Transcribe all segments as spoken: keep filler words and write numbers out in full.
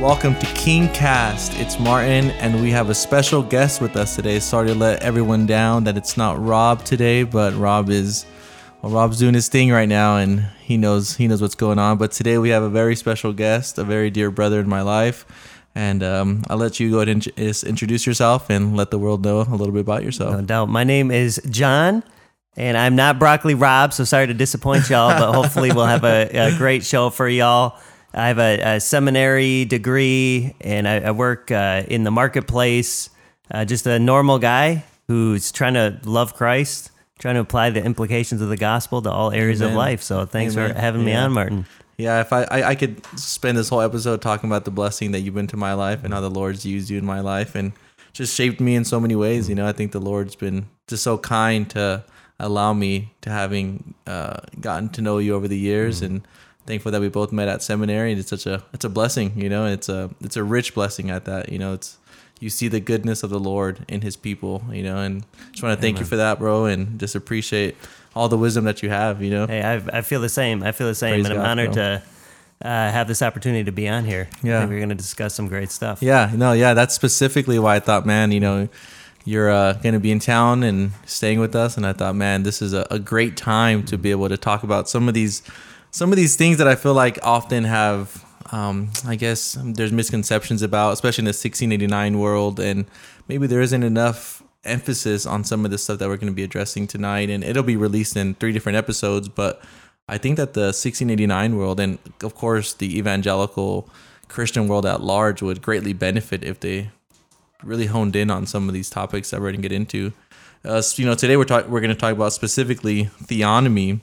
Welcome to King Cast. It's Martin, and we have a special guest with us today. Sorry to let everyone down that it's not Rob today, but Rob is, well, Rob's doing his thing right now, and he knows he knows what's going on. But today we have a very special guest, a very dear brother in my life, and um, I'll let you go ahead and int- introduce yourself and let the world know a little bit about yourself. No doubt. My name is John. And I'm not Broccoli Rob, so sorry to disappoint y'all, but hopefully we'll have a, a great show for y'all. I have a, a seminary degree, and I, I work uh, in the marketplace. Uh, just a normal guy who's trying to love Christ, trying to apply the implications of the gospel to all areas Amen. of life. So thanks Amen. for having me Yeah. on, Martin. Yeah, if I, I I could spend this whole episode talking about the blessing that you've been to my life and how the Lord's used you in my life and just shaped me in so many ways. You know, I think the Lord's been just so kind to allow me to having uh, gotten to know you over the years, mm-hmm. and thankful that we both met at seminary. And it's such a it's a blessing, you know. It's a it's a rich blessing at that, you know. It's you see the goodness of the Lord in His people, you know. And just want to thank Amen. you for that, bro, and just appreciate all the wisdom that you have, you know. Hey, I, I feel the same. I feel the same, Praise and I'm God, honored bro. to uh, have this opportunity to be on here. Yeah. I think we're going to discuss some great stuff. Yeah, no, yeah, that's specifically why I thought, man, you know, you're uh, going to be in town and staying with us, and I thought, man, this is a, a great time to be able to talk about some of these, some of these things that I feel like often have, um, I guess, there's misconceptions about, especially in the sixteen eighty-nine world, and maybe there isn't enough emphasis on some of the stuff that we're going to be addressing tonight, and it'll be released in three different episodes, but I think that the sixteen eighty-nine world, and of course the evangelical Christian world at large, would greatly benefit if they really honed in on some of these topics that we're going to get into. Uh, so, you know, today we're talk- we're going to talk about specifically theonomy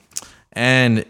and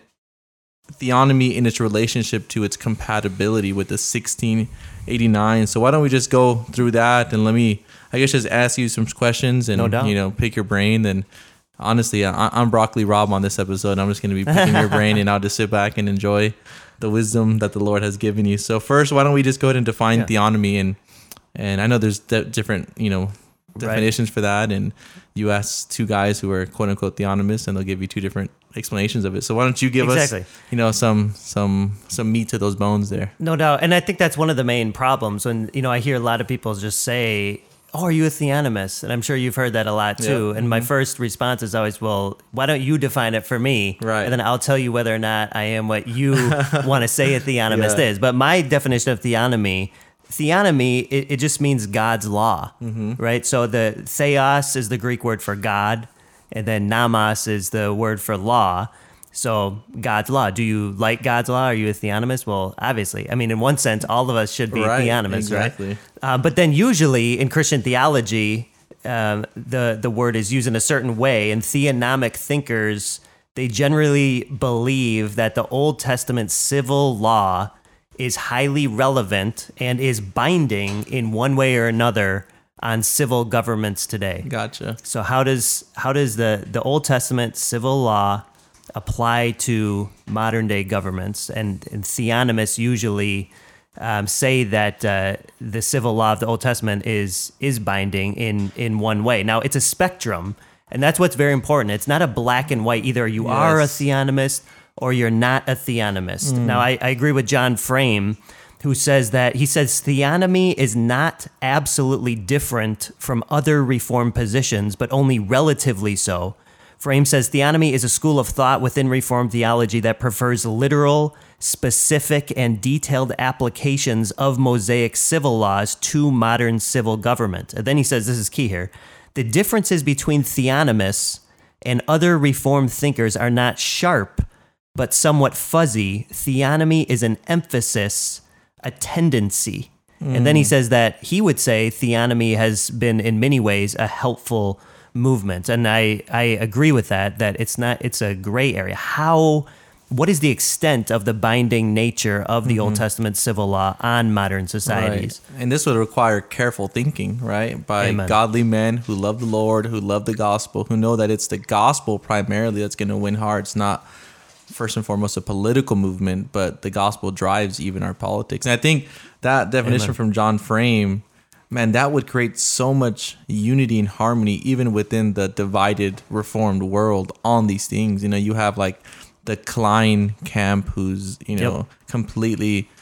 theonomy in its relationship to its compatibility with the sixteen eighty-nine. So why don't we just go through that, and let me, I guess, just ask you some questions and, No doubt. you know, pick your brain. Then honestly, I- I'm Broccoli Rob on this episode. I'm just going to be picking your brain, and I'll just sit back and enjoy the wisdom that the Lord has given you. So first, why don't we just go ahead and define Yeah. theonomy, and And I know there's de- different, you know, definitions Right. for that. And you ask two guys who are quote unquote theonomists, and they'll give you two different explanations of it. So why don't you give Exactly. us, you know, some some some meat to those bones there? No doubt. And I think that's one of the main problems when, you know, I hear a lot of people just say, oh, are you a theonomist? And I'm sure you've heard that a lot too. Yep. And my first response is always, well, why don't you define it for me? Right. And then I'll tell you whether or not I am what you want to say a theonomist Yeah. is. But my definition of theonomy, theonomy, it, it just means God's law, Mm-hmm. right? So the theos is the Greek word for God, and then nomos is the word for law. So God's law. Do you like God's law? Are you a theonomist? Well, obviously. I mean, in one sense, all of us should be Right, theonomists, exactly. right? Uh, but then usually in Christian theology, um, the, the word is used in a certain way, and theonomic thinkers, they generally believe that the Old Testament civil law is highly relevant and is binding in one way or another on civil governments today. Gotcha. So how does how does the, the Old Testament civil law apply to modern day governments? And, and theonomists usually um, say that uh, the civil law of the Old Testament is is binding in in one way. Now it's a spectrum, and that's what's very important. It's not a black and white. Either you are a Yes. theonomist or you're not a theonomist. Now I, I agree with John Frame, who says that he says theonomy is not absolutely different from other Reformed positions, but only relatively so. Frame says theonomy is a school of thought within Reformed theology that prefers literal, specific, and detailed applications of Mosaic civil laws to modern civil government. And then he says, this is key here, the differences between theonomists and other Reformed thinkers are not sharp, but somewhat fuzzy. Theonomy is an emphasis, a tendency. Mm. And then he says that he would say theonomy has been in many ways a helpful movement. And I, I agree with that, that it's not, it's a gray area. How, what is the extent of the binding nature of the mm-hmm. Old Testament civil law on modern societies? Right. And this would require careful thinking, right? By Amen. godly men who love the Lord, who love the gospel, who know that it's the gospel primarily that's going to win hearts, not first and foremost a political movement, but the gospel drives even our politics. And I think that definition Amen. from John Frame, man, that would create so much unity and harmony even within the divided Reformed world on these things. You know, you have like the Klein camp who's, you know, Yep. completely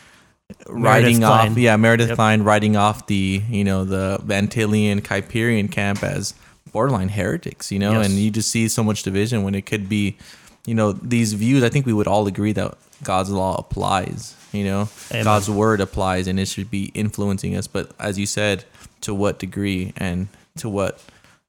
writing Meredith off, Klein. yeah, Meredith Yep. Klein writing off the, you know, the Antillean Kuyperian camp as borderline heretics, you know, Yes. and you just see so much division when it could be, you know, these views. I think we would all agree that God's law applies, you know, Amen. God's word applies, and it should be influencing us. But as you said, to what degree and to what,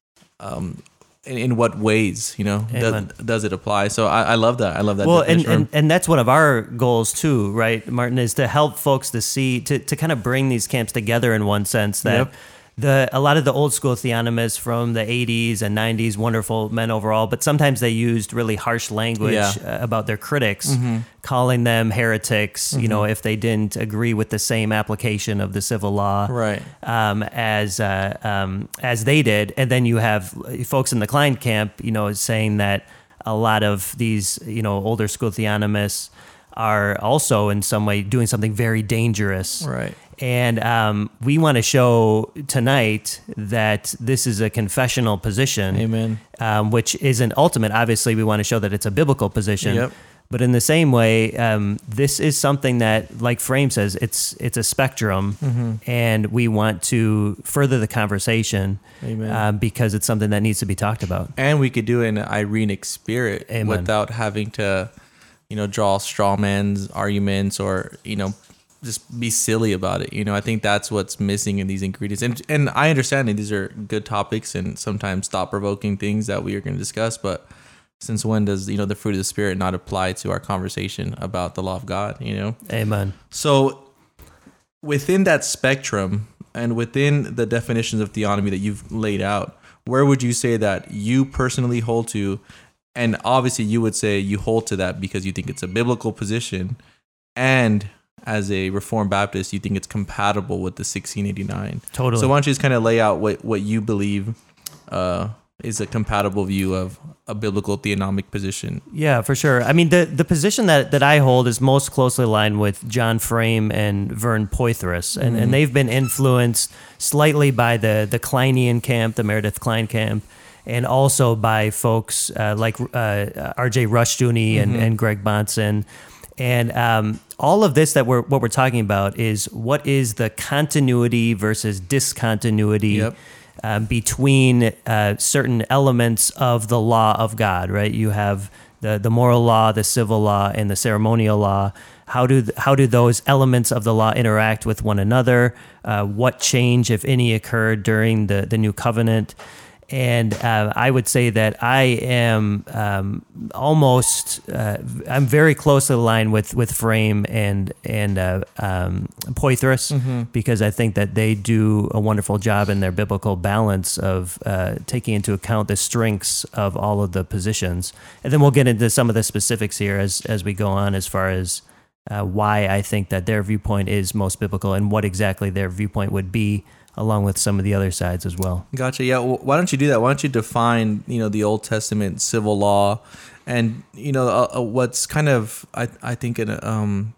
um, in, in what ways, you know, does, Amen. does it apply? So I, I love that. I love that. Well, and, definition. and, and that's one of our goals too, right, Martin, is to help folks to see, to, to kind of bring these camps together in one sense that Yep. the a lot of the old school theonomists from the eighties and nineties, wonderful men overall, but sometimes they used really harsh language Yeah. uh, about their critics, calling them heretics, you know, if they didn't agree with the same application of the civil law. Right. Um, as uh, um, as they did, and then you have folks in the Klein camp, you know, saying that a lot of these, you know, older school theonomists are also in some way doing something very dangerous. Right. And um, we want to show tonight that this is a confessional position, Amen. um, which isn't ultimate. Obviously, we want to show that it's a biblical position. Yep. But in the same way, um, this is something that, like Frame says, it's it's a spectrum, Mm-hmm. and we want to further the conversation Amen. um, because it's something that needs to be talked about. And we could do it in an Irenic spirit Amen. without having to, you know, draw straw man's arguments or, you know, just be silly about it. You know, I think that's what's missing in these ingredients. And and I understand that these are good topics and sometimes thought-provoking things that we are going to discuss, but since when does, you know, the fruit of the Spirit not apply to our conversation about the law of God, you know? Amen. So within that spectrum and within the definitions of theonomy that you've laid out, where would you say that you personally hold to? And obviously you would say you hold to that because you think it's a biblical position, and as a Reformed Baptist, you think it's compatible with the sixteen eighty-nine. Totally. So why don't you just kind of lay out what, what you believe uh, is a compatible view of a biblical theonomic position? Yeah, for sure. I mean, the, the position that, that I hold is most closely aligned with John Frame and Vern Poythress, and, and they've been influenced slightly by the, the Kleinian camp, the Meredith Klein camp, and also by folks uh, like uh, R J Rushdoony and, and Greg Bonson. And um, all of this that we're what we're talking about is what is the continuity versus discontinuity Yep. um, between uh, certain elements of the law of God, right? You have the, the moral law, the civil law, and the ceremonial law. How do th- how do those elements of the law interact with one another? Uh, what change, if any, occurred during the, the new covenant? And uh, I would say that I am um, almost, uh, I'm very closely aligned with, with Frame and and uh, um, Poythress, because I think that they do a wonderful job in their biblical balance of uh, taking into account the strengths of all of the positions. And then we'll get into some of the specifics here as, as we go on, as far as uh, why I think that their viewpoint is most biblical and what exactly their viewpoint would be, along with some of the other sides as well. Gotcha. Yeah. Well, why don't you do that? Why don't you define, you know, the Old Testament civil law, and you know uh, uh, what's kind of I I think in a, um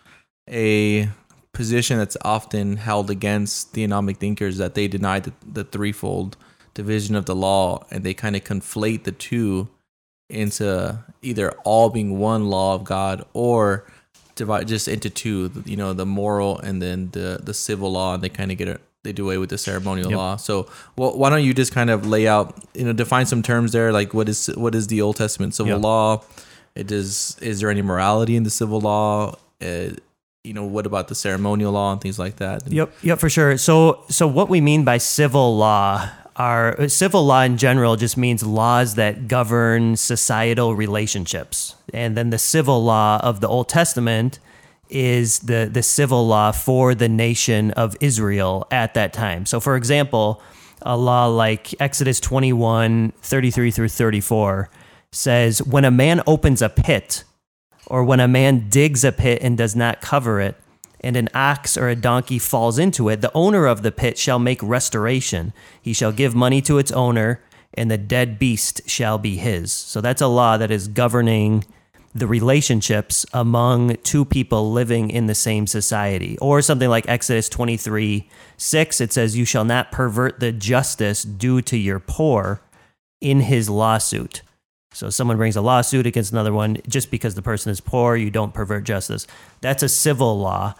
a position that's often held against theonomic thinkers, that they deny the, the threefold division of the law, and they kind of conflate the two into either all being one law of God, or divide just into two. You know, the moral and then the the civil law, and they kind of get it. They do away with the ceremonial Yep. law. So, well, why don't you just kind of lay out, you know, define some terms there, like what is what is the Old Testament civil Yep. law? It is is there any morality in the civil law? Uh, you know, what about the ceremonial law and things like that? Yep, yep, for sure. So, so what we mean by civil law are civil law in general just means laws that govern societal relationships, and then the civil law of the Old Testament is the the civil law for the nation of Israel at that time. So, for example, a law like Exodus twenty-one, thirty-three through thirty-four says, when a man opens a pit, or when a man digs a pit and does not cover it, and an ox or a donkey falls into it, the owner of the pit shall make restoration. He shall give money to its owner, and the dead beast shall be his. So that's a law that is governing the relationships among two people living in the same society. Or something like Exodus twenty-three six, it says, you shall not pervert the justice due to your poor in his lawsuit. So someone brings a lawsuit against another one, just because the person is poor, you don't pervert justice. That's a civil law.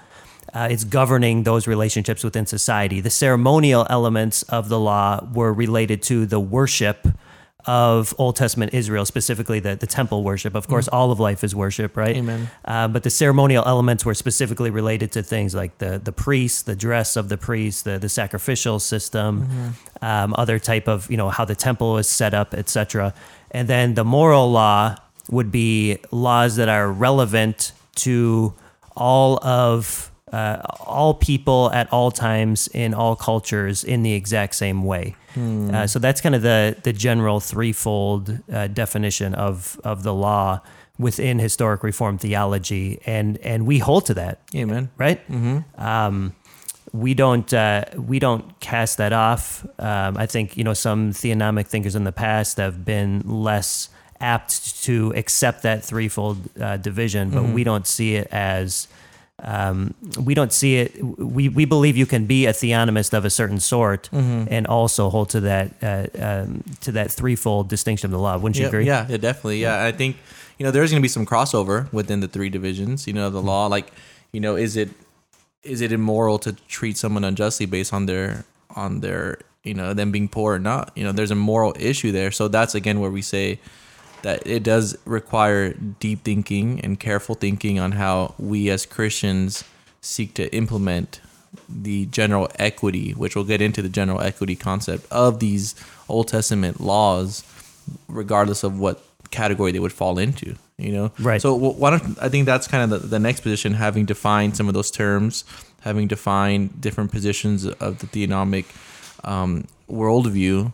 Uh, it's governing those relationships within society. The ceremonial elements of the law were related to the worship of Old Testament Israel, specifically the, the temple worship. Of course, all of life is worship, right? Amen. Uh, but the ceremonial elements were specifically related to things like the the priest, the dress of the priest, the, the sacrificial system, mm-hmm. um, other type of, you know, how the temple was set up, et cetera. And then the moral law would be laws that are relevant to all of uh, all people at all times in all cultures in the exact same way. Hmm. Uh, so that's kind of the the general threefold uh, definition of of the law within historic Reformed theology, and and we hold to that. Amen. Right? Mm-hmm. Um, we don't uh, we don't cast that off. Um, I think, you know, some theonomic thinkers in the past have been less apt to accept that threefold uh, division, but mm-hmm. we don't see it as um, we don't see it. We we believe you can be a theonomist of a certain sort mm-hmm. and also hold to that uh, um, to that threefold distinction of the law. Wouldn't you yeah, agree? Yeah, yeah, definitely. Yeah, I think, you know, there's going to be some crossover within the three divisions. You know, the law, like, you know, is it is it immoral to treat someone unjustly based on their on their you know them being poor or not? You know, there's a moral issue there. So that's again where we say that it does require deep thinking and careful thinking on how we as Christians seek to implement the general equity, which we'll get into the general equity concept of these Old Testament laws, regardless of what category they would fall into, you know? Right. So why don't, I think that's kind of the, the next position, having defined some of those terms, having defined different positions of the theonomic um, worldview.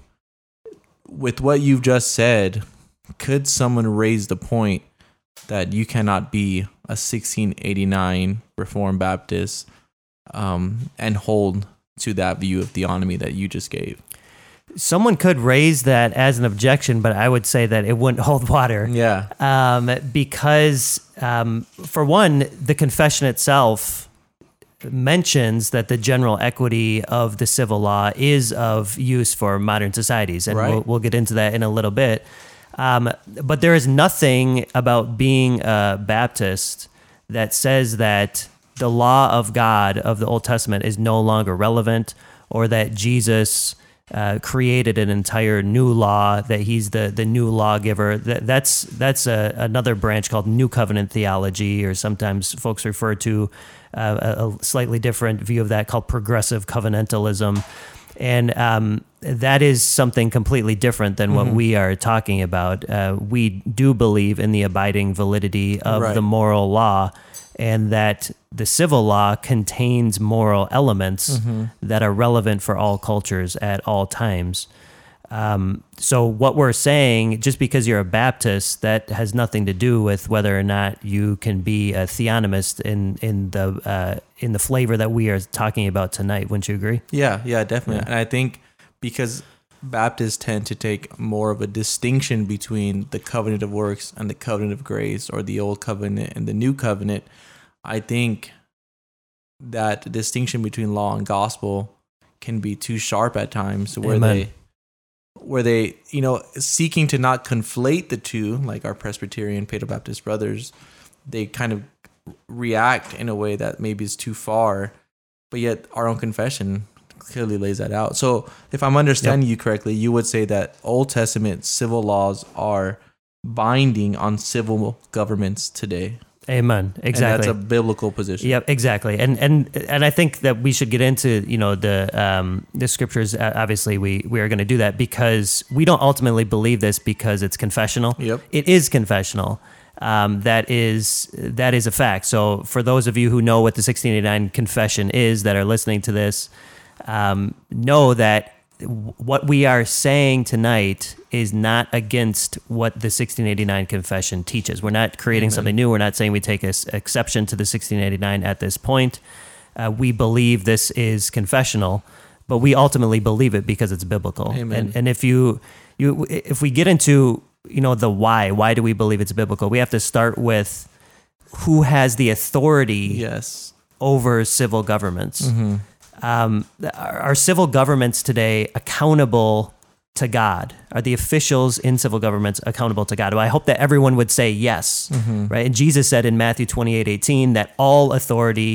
With what you've just said, could someone raise the point that you cannot be a sixteen eighty-nine Reformed Baptist um, and hold to that view of theonomy that you just gave? Someone could raise that as an objection, but I would say that it wouldn't hold water. Yeah. Um, because, um, for one, the confession itself mentions that the general equity of the civil law is of use for modern societies, and right. we'll, we'll get into that in a little bit. Um, but there is nothing about being a Baptist that says that the law of God of the Old Testament is no longer relevant, or that Jesus uh, created an entire new law, that he's the, the new lawgiver. That, that's that's a, another branch called New Covenant theology, or sometimes folks refer to uh, a, a slightly different view of that called progressive covenantalism. And um, that is something completely different than what mm-hmm. we are talking about. Uh, we do believe in the abiding validity of right. the moral law, and that the civil law contains moral elements mm-hmm. that are relevant for all cultures at all times. Um, so what we're saying, just because you're a Baptist, that has nothing to do with whether or not you can be a theonomist in in the uh, in the flavor that we are talking about tonight. Wouldn't you agree? Yeah, yeah, definitely. Yeah. And I think because Baptists tend to take more of a distinction between the covenant of works and the covenant of grace, or the old covenant and the new covenant, I think that distinction between law and gospel can be too sharp at times, where Amen. they where they, you know, seeking to not conflate the two, like our Presbyterian, Paedo-Baptist brothers, they kind of react in a way that maybe is too far, but yet our own confession clearly lays that out. So if I'm understanding yep. you correctly, you would say that Old Testament civil laws are binding on civil governments today. Amen. Exactly. And that's a biblical position. Yep, exactly. And and and I think that we should get into, you know, the um, the scriptures. Obviously, we we are going to do that because we don't ultimately believe this because it's confessional. Yep. It is confessional. Um, that is that is a fact. So for those of you who know what the sixteen eighty-nine confession is, that are listening to this, um, know that what we are saying tonight is not against what the sixteen eighty-nine confession teaches. We're not creating Amen. Something new. We're not saying we take an exception to the sixteen eighty-nine at this point. Uh, we believe this is confessional, but we ultimately believe it because it's biblical. Amen. And, and if you, you, if we get into, you know, the why, why do we believe it's biblical? We have to start with who has the authority yes. over civil governments. Mm-hmm. Um, are, are civil governments today accountable to God? Are the officials in civil governments accountable to God? Well, I hope that everyone would say yes, mm-hmm. right? And Jesus said in Matthew twenty-eight eighteen that all authority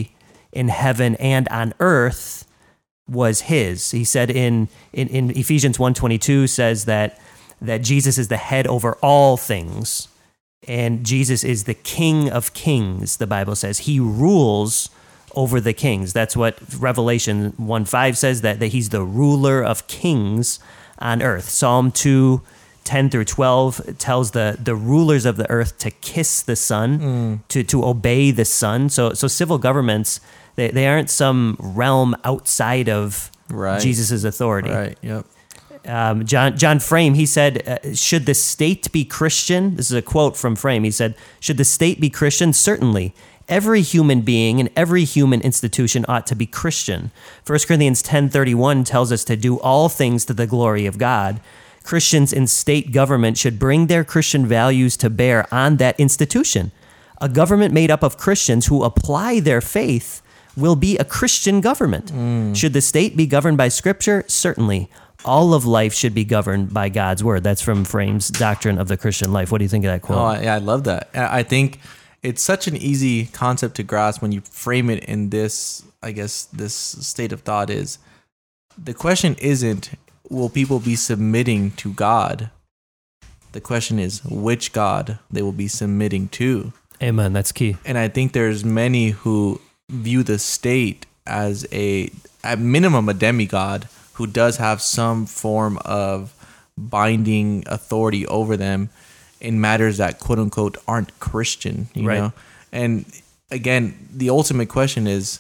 in heaven and on earth was his. He said in, in, in Ephesians one twenty-two says that, that Jesus is the head over all things, and Jesus is the King of kings, the Bible says. He rules over the kings. That's what Revelation one five says, that, that he's the ruler of kings on earth. Psalm two ten through twelve tells the, the rulers of the earth to kiss the Son, mm. to, to obey the Son. So so civil governments, they, they aren't some realm outside of right. Jesus' authority. Right, yep. Um, John John Frame, he said, uh, should the state be Christian? This is a quote from Frame. He said, should the state be Christian? Certainly. Every human being and every human institution ought to be Christian. First Corinthians ten thirty-one tells us to do all things to the glory of God. Christians in state government should bring their Christian values to bear on that institution. A government made up of Christians who apply their faith will be a Christian government. Mm. Should the state be governed by Scripture? Certainly. All of life should be governed by God's word. That's from Frame's Doctrine of the Christian Life. What do you think of that quote? Oh, yeah, I love that. I think it's such an easy concept to grasp when you frame it in this, I guess, this state of thought is, the question isn't, will people be submitting to God? The question is, which God they will be submitting to. Amen. That's key. And I think there's many who view the state as a, at minimum, a demigod who does have some form of binding authority over them in matters that quote unquote aren't Christian, you right. know? And again, the ultimate question is,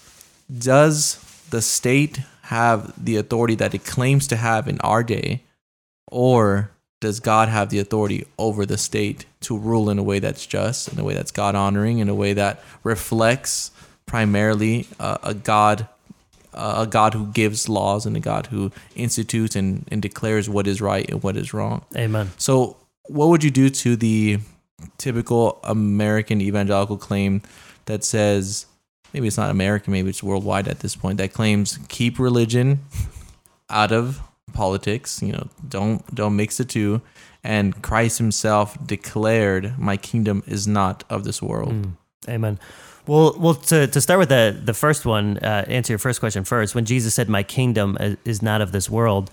does the state have the authority that it claims to have in our day, or does God have the authority over the state to rule in a way that's just, in a way that's God honoring, in a way that reflects primarily uh, a God Uh, a God who gives laws and a God who institutes and, and declares what is right and what is wrong. Amen. So what would you do to the typical American evangelical claim that says, maybe it's not American, maybe it's worldwide at this point, that claims keep religion out of politics, you know, don't don't mix the two, and Christ himself declared, my kingdom is not of this world. Mm. Amen. Well, well, to, to start with the, the first one, uh, answer your first question first. When Jesus said, my kingdom is not of this world,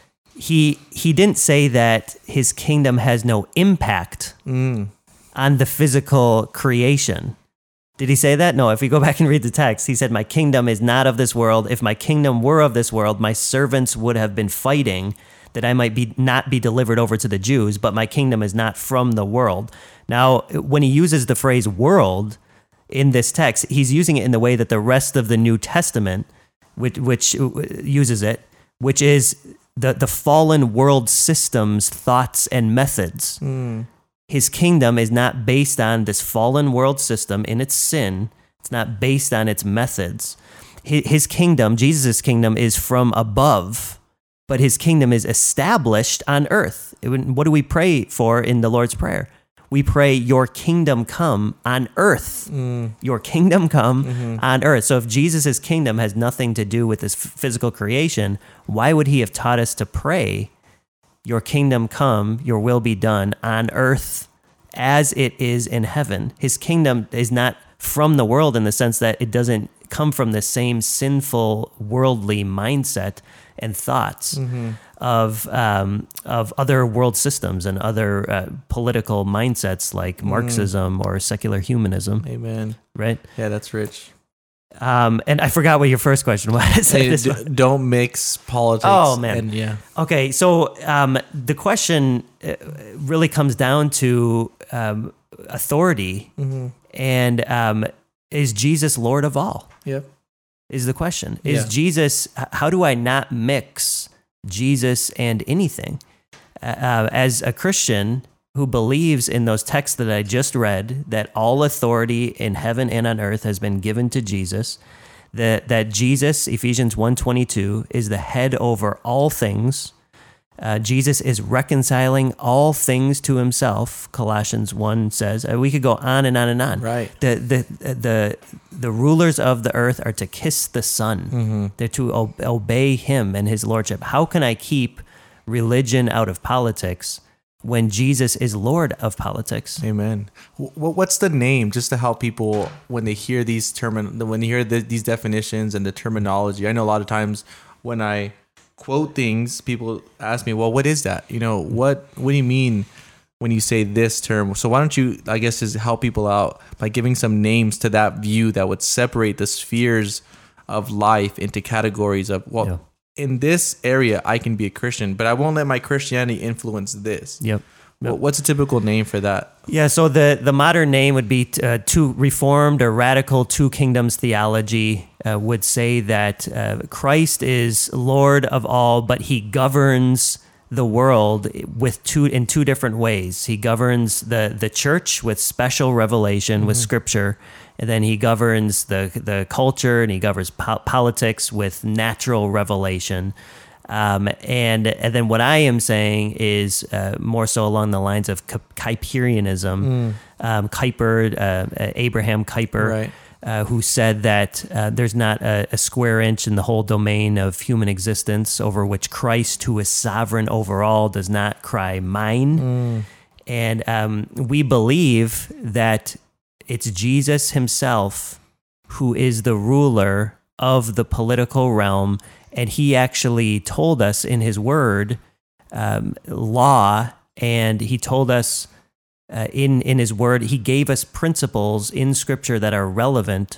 he he didn't say that his kingdom has no impact mm. on the physical creation. Did he say that? No, if we go back and read the text, he said, my kingdom is not of this world. If my kingdom were of this world, my servants would have been fighting that I might be not be delivered over to the Jews, but my kingdom is not from the world. Now, when he uses the phrase world in this text, he's using it in the way that the rest of the New Testament, which, which uses it, which is the, the fallen world system's thoughts and methods. Mm. His kingdom is not based on this fallen world system in its sin. It's not based on its methods. His, his kingdom, Jesus' kingdom, is from above, but his kingdom is established on earth. It, what do we pray for in the Lord's Prayer? We pray, your kingdom come on earth. Mm. Your kingdom come mm-hmm. on earth. So if Jesus' kingdom has nothing to do with this physical creation, why would he have taught us to pray, your kingdom come, your will be done on earth as it is in heaven? His kingdom is not from the world in the sense that it doesn't come from the same sinful, worldly mindset and thoughts mm-hmm. of um, of other world systems and other uh, political mindsets like mm. Marxism or secular humanism. Amen. Right? Yeah, that's rich. Um, and I forgot what your first question was. Hey, d- don't mix politics. Oh, man. And, yeah. Okay, so um, the question really comes down to um, authority mm-hmm. and um, is Jesus Lord of all? Yep. Is the question. Is yeah. Jesus, how do I not mix Jesus and anything? Uh, as a Christian who believes in those texts that I just read, that all authority in heaven and on earth has been given to Jesus, that, that Jesus, Ephesians one twenty-two, is the head over all things. Uh, Jesus is reconciling all things to himself, Colossians one says. Uh, we could go on and on and on. Right. The the the the rulers of the earth are to kiss the Son. Mm-hmm. They're to o- obey him and his lordship. How can I keep religion out of politics when Jesus is Lord of politics. Amen. Wh- What's the name, just to help people when they hear these termin when they hear the, these definitions and the terminology? I know a lot of times when I quote things, people ask me, "Well, what is that? You know, what what do you mean when you say this term?" So why don't you, I guess, just help people out by giving some names to that view that would separate the spheres of life into categories of, well, Yeah. in this area I can be a Christian, but I won't let my Christianity influence this. Yep. Well, what's a typical name for that? Yeah, so the, the modern name would be uh, two Reformed or Radical Two Kingdoms theology uh, would say that uh, Christ is Lord of all, but he governs the world with two in two different ways. He governs the, the church with special revelation, mm-hmm. with Scripture, and then he governs the the culture and he governs po- politics with natural revelation. Um, and and then what I am saying is uh, more so along the lines of Kuyperianism. Mm. Um, Kuyper, uh, Abraham Kuyper, Right. uh, who said that uh, there's not a, a square inch in the whole domain of human existence over which Christ, who is sovereign over all, does not cry mine. Mm. And um, we believe that it's Jesus himself who is the ruler of the political realm. And he actually told us in his word, um, law, and he told us uh, in, in his word, he gave us principles in Scripture that are relevant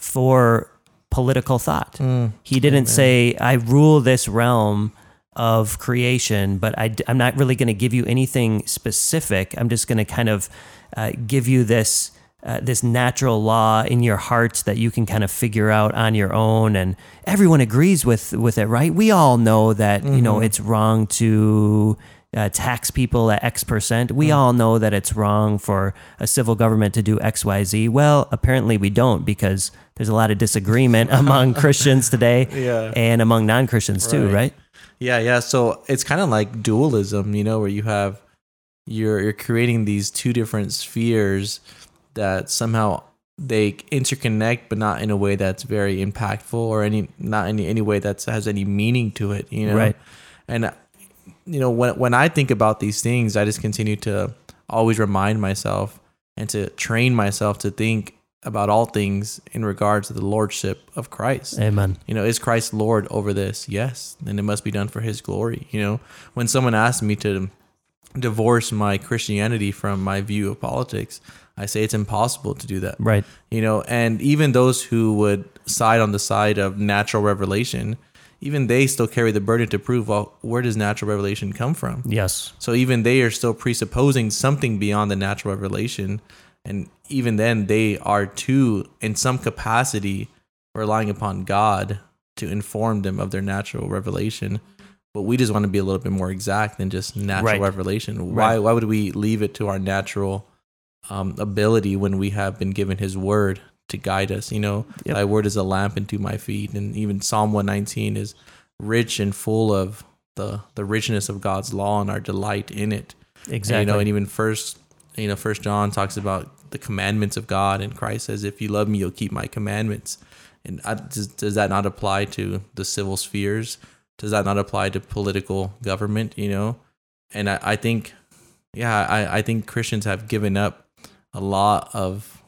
for political thought. Mm, he didn't amen. say, I rule this realm of creation, but I, I'm not really going to give you anything specific. I'm just going to kind of uh, give you this Uh, this natural law in your heart that you can kind of figure out on your own, and everyone agrees with with it, right? We all know that mm-hmm. you know it's wrong to uh, tax people at X percent. We mm-hmm. all know that it's wrong for a civil government to do X, Y, Z. Well, apparently we don't, because there's a lot of disagreement among Christians today, yeah. and among non-Christians right. too, right? Yeah, yeah. So it's kind of like dualism, you know, where you have you're you're creating these two different spheres that somehow they interconnect, but not in a way that's very impactful or any not in any way that has any meaning to it, you know. Right. And you know, when when I think about these things, I just continue to always remind myself and to train myself to think about all things in regards to the lordship of Christ. Amen. You know, is Christ Lord over this? Yes. Then it must be done for his glory. You know, when someone asks me to divorce my Christianity from my view of politics, I say it's impossible to do that. Right. You know, and even those who would side on the side of natural revelation, even they still carry the burden to prove, well, where does natural revelation come from? Yes. So even they are still presupposing something beyond the natural revelation. And even then they are too, in some capacity, relying upon God to inform them of their natural revelation. But we just want to be a little bit more exact than just natural right. revelation. Right. Why, why would we leave it to our natural Um, ability when we have been given his word to guide us? You know, yep. Thy word is a lamp unto my feet. And even Psalm one nineteen is rich and full of the, the richness of God's law and our delight in it. Exactly. And, you know, and even first, you know, First John talks about the commandments of God, and Christ says, if you love me, you'll keep my commandments. And I, does, does that not apply to the civil spheres? Does that not apply to political government? You know, and I, I think, yeah, I, I think Christians have given up a lot of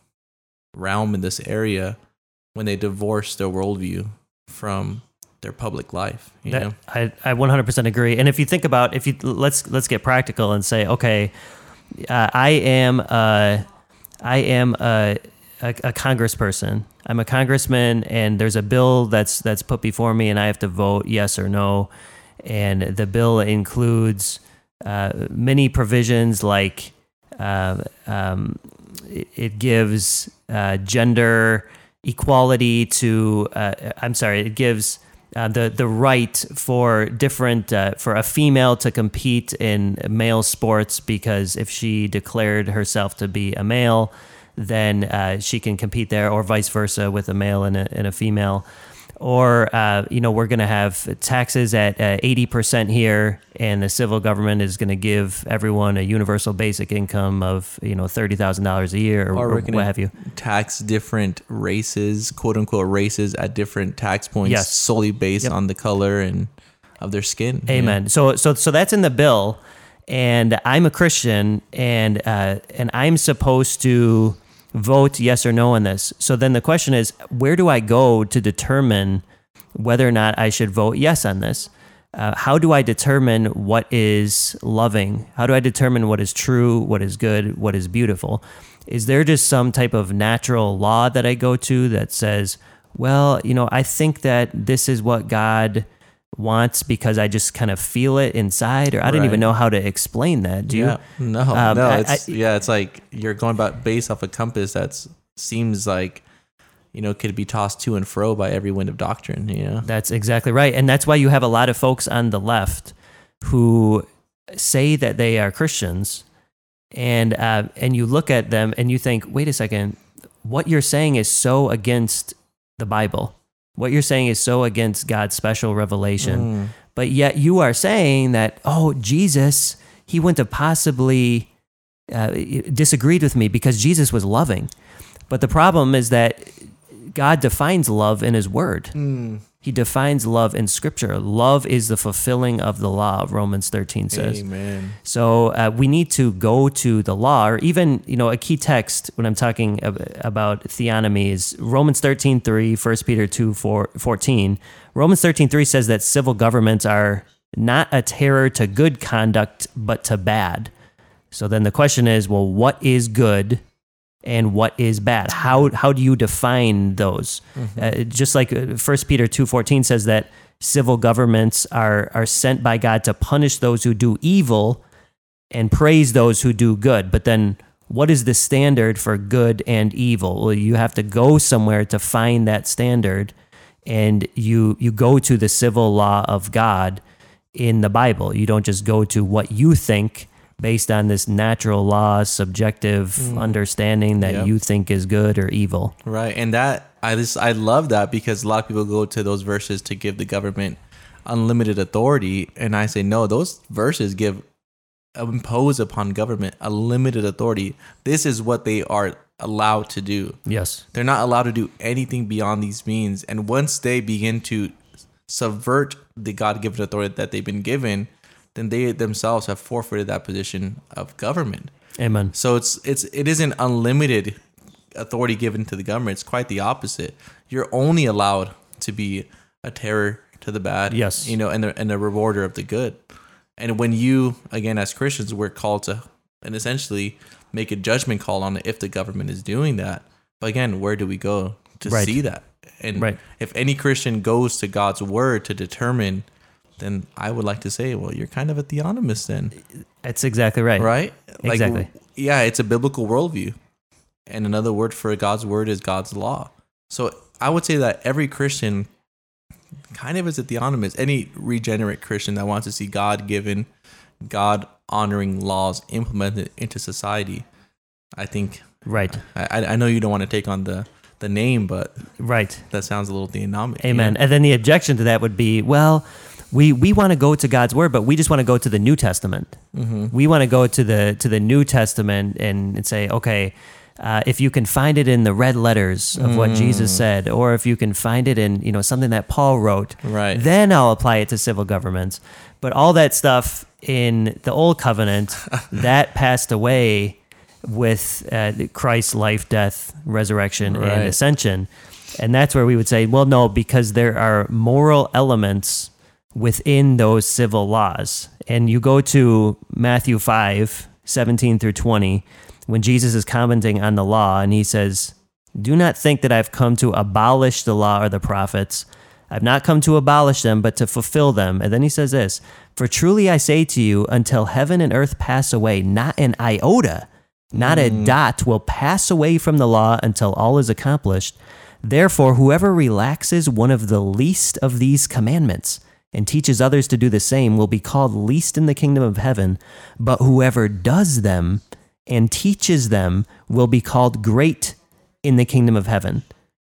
realm in this area when they divorce their worldview from their public life. You that, know? I, I one hundred percent agree. And if you think about, if you let's let's get practical and say, okay, uh, I am a, I am a, a, a congressperson. I'm a congressman, and there's a bill that's that's put before me, and I have to vote yes or no. And the bill includes uh, many provisions like. Uh, um, it, it gives uh, gender equality to. Uh, I'm sorry. It gives uh, the the right for different uh, for a female to compete in male sports, because if she declared herself to be a male, then uh, she can compete there, or vice versa with a male and a, and a female. Or, uh, you know, we're going to have taxes at uh, eighty percent here, and the civil government is going to give everyone a universal basic income of, you know, thirty thousand dollars a year, or, or, or what have you. Tax different races, quote unquote races, at different tax points, yes. solely based yep. on the color and of their skin. Amen. Yeah. So, so, so that's in the bill. and I'm a Christian, and uh, and I'm supposed to vote yes or no on this. So then the question is, where do I go to determine whether or not I should vote yes on this? Uh, how do I determine what is loving? How do I determine what is true, what is good, what is beautiful? Is there just some type of natural law that I go to that says, well, you know, I think that this is what God wants because I just kind of feel it inside, or I don't Right. even know how to explain that. Do yeah. you? No, Um, no. I- It's I- yeah. It's like you're going about based off a compass that seems like, you know, could be tossed to and fro by every wind of doctrine. You know. That's exactly right. And that's why you have a lot of folks on the left who say that they are Christians, and uh, and you look at them and you think, wait a second, what you're saying is so against the Bible. What you're saying is so against God's special revelation. Mm. But yet you are saying that, oh, Jesus, he wouldn't have possibly uh, disagreed with me because Jesus was loving. But the problem is that God defines love in his word. Mm. He defines love in scripture. Love is the fulfilling of the law, Romans thirteen says. Amen. So uh, we need to go to the law, or even, you know, a key text when I'm talking ab- about theonomy is Romans thirteen three, First Peter two fourteen. Romans thirteen three says that civil governments are not a terror to good conduct, but to bad. So then the question is, well, what is good and what is bad? How how do you define those? Mm-hmm. Uh, just like First Peter two fourteen says that civil governments are are sent by God to punish those who do evil and praise those who do good. But then what is the standard for good and evil? Well, you have to go somewhere to find that standard, and you you go to the civil law of God in the Bible. You don't just go to what you think based on this natural law, subjective mm. understanding that yep. you think is good or evil. Right. And that, I just, I love that, because a lot of people go to those verses to give the government unlimited authority. And I say, no, those verses give, impose upon government a limited authority. This is what they are allowed to do. Yes. They're not allowed to do anything beyond these means. And once they begin to subvert the God-given authority that they've been given, then they themselves have forfeited that position of government. Amen. So it's it's it isn't unlimited authority given to the government. It's quite the opposite. You're only allowed to be a terror to the bad. Yes. You know, and the, and a rewarder of the good. And when you, again, as Christians, we're called to, and essentially make a judgment call on if the government is doing that. But again, where do we go to right. see that? And right. if any Christian goes to God's word to determine, then I would like to say, well, you're kind of a theonomist then. That's exactly right. Right? Like, exactly. Yeah, it's a biblical worldview. And another word for God's word is God's law. So I would say that every Christian kind of is a theonomist. Any regenerate Christian that wants to see God-given, God-honoring laws implemented into society, I think. Right. I, I know you don't want to take on the, the name, but right. that sounds a little theonomic. Amen. You know? And then the objection to that would be, well, we we want to go to God's word, but we just want to go to the New Testament. Mm-hmm. We want to go to the to the New Testament and, and say, okay, uh, if you can find it in the red letters of mm. what Jesus said, or if you can find it in, you know, something that Paul wrote, right. then I'll apply it to civil governments. But all that stuff in the Old Covenant, that passed away with uh, Christ's life, death, resurrection, right. and ascension. And that's where we would say, well, no, because there are moral elements within those civil laws. And you go to Matthew five, seventeen through twenty, when Jesus is commenting on the law, and he says, do not think that I've come to abolish the law or the prophets. I've not come to abolish them, but to fulfill them. And then he says this, for truly I say to you, until heaven and earth pass away, not an iota, not mm. a dot will pass away from the law until all is accomplished. Therefore, whoever relaxes one of the least of these commandments and teaches others to do the same will be called least in the kingdom of heaven, but whoever does them and teaches them will be called great in the kingdom of heaven.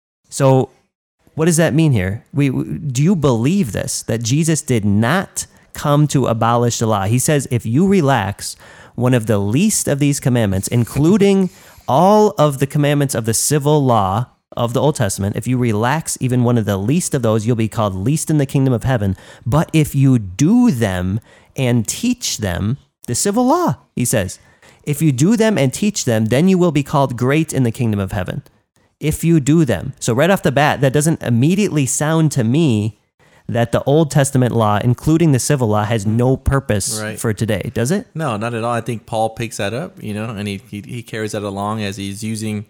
So what does that mean here? We, do you believe this, that Jesus did not come to abolish the law? He says, if you relax one of the least of these commandments, including all of the commandments of the civil law of the Old Testament, if you relax even one of the least of those, you'll be called least in the kingdom of heaven. But if you do them and teach them, The civil law, he says. If you do them and teach them, then you will be called great in the kingdom of heaven. If you do them. So right off the bat, that doesn't immediately sound to me that the Old Testament law, including the civil law, has no purpose Right. for today, does it? No, not at all. I think Paul picks that up, you know, and he he, he carries that along as he's using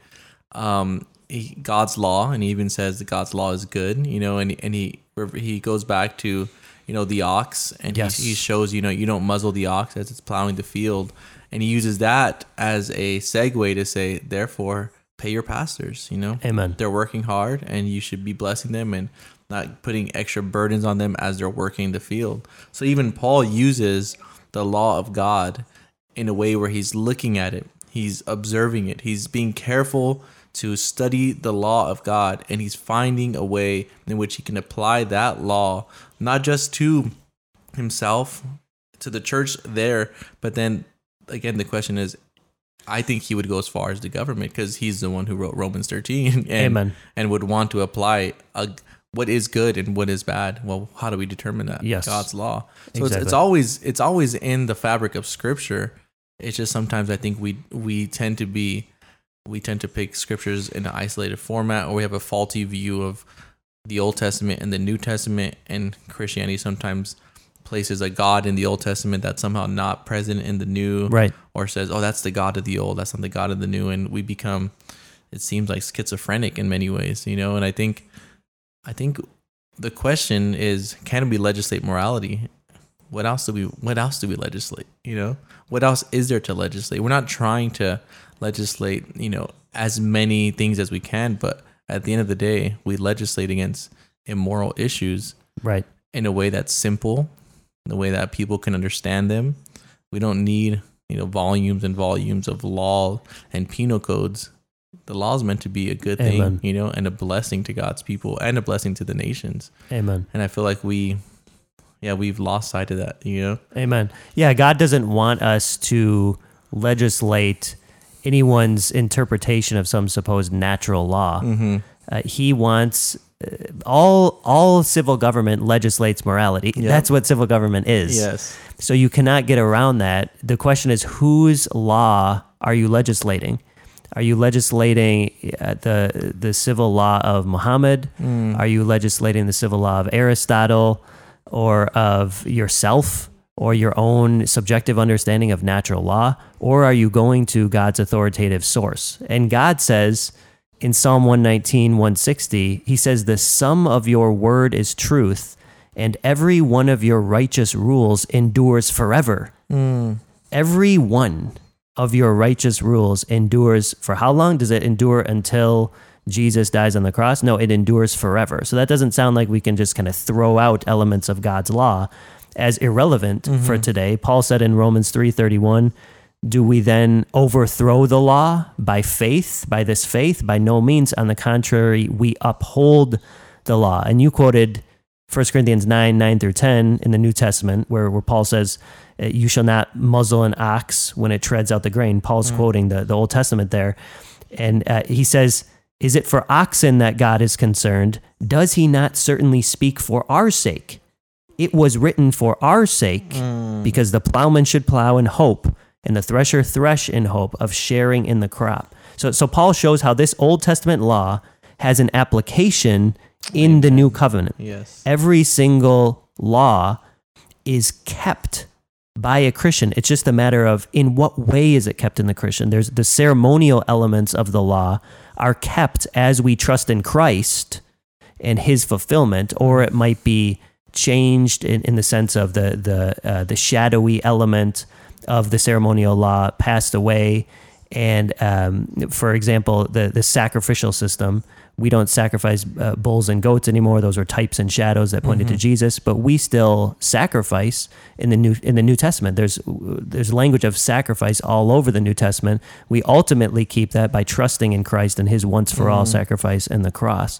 um, he, God's law, and he even says that God's law is good, you know, and and he he goes back to, you know, the ox, and Yes. he, he shows, you know, you don't muzzle the ox as it's plowing the field, and he uses that as a segue to say, therefore, pay your pastors, you know, Amen. they're working hard, and you should be blessing them and not putting extra burdens on them as they're working the field. So even Paul uses the law of God in a way where he's looking at it, he's observing it, he's being careful to study the law of God, and he's finding a way in which he can apply that law, not just to himself, to the church there, but then again, the question is, I think he would go as far as the government, because he's the one who wrote Romans thirteen and, Amen. and would want to apply a, what is good and what is bad. Well, how do we determine that? Yes. God's law. So Exactly. it's, it's always it's always in the fabric of Scripture. It's just sometimes I think we we tend to be we tend to pick scriptures in an isolated format, or we have a faulty view of the Old Testament and the New Testament, and Christianity sometimes places a God in the Old Testament that's somehow not present in the New, Right. or says, oh, that's the God of the Old, that's not the God of the New, and we become, it seems like, schizophrenic in many ways, you know. And I think I think the question is, can we legislate morality? What else do we what else do we legislate? You know, what else is there to legislate? We're not trying to legislate, you know, as many things as we can, but at the end of the day, we legislate against immoral issues Right. in a way that's simple, in a way that people can understand them. We don't need, you know, volumes and volumes of law and penal codes. The law is meant to be a good thing, Amen. you know, and a blessing to God's people and a blessing to the nations. Amen. And I feel like we, yeah, we've lost sight of that, you know? Amen. Yeah, God doesn't want us to legislate anyone's interpretation of some supposed natural law. Mm-hmm. Uh, he wants uh, all all civil government legislates morality. Yeah. That's what civil government is. Yes. So you cannot get around that. The question is, whose law are you legislating? Are you legislating uh, the the civil law of Muhammad? Mm. Are you legislating the civil law of Aristotle, or of yourself, or your own subjective understanding of natural law? Or are you going to God's authoritative source? And God says in Psalm one nineteen, one sixty, he says, the sum of your word is truth, and every one of your righteous rules endures forever. Mm. Every one of your righteous rules endures for how long? Does it endure until Jesus dies on the cross? No, it endures forever. So that doesn't sound like we can just kind of throw out elements of God's law as irrelevant Mm-hmm. for today. Paul said in Romans three thirty-one, do we then overthrow the law by faith, by this faith? By no means. On the contrary, we uphold the law. And you quoted First Corinthians nine, nine through ten in the New Testament, where, where Paul says, you shall not muzzle an ox when it treads out the grain. Paul's Mm. quoting the, the Old Testament there. And uh, he says, is it for oxen that God is concerned? Does he not certainly speak for our sake? It was written for our sake, Mm. because the plowman should plow in hope, and the thresher thresh in hope of sharing in the crop. So, so Paul shows how this Old Testament law has an application in the New Covenant. Yes. Every single law is kept by a Christian. It's just a matter of in what way is it kept in the Christian. There's the ceremonial elements of the law are kept as we trust in Christ and his fulfillment, or it might be changed in, in the sense of the the uh, the shadowy element of the ceremonial law passed away. And um, for example, the the sacrificial system, we don't sacrifice uh, bulls and goats anymore. Those are types and shadows that pointed Mm-hmm. to Jesus. But we still sacrifice in the new in the New Testament. There's there's language of sacrifice all over the New Testament. We ultimately keep that by trusting in Christ and His once for all Mm-hmm. sacrifice and the cross.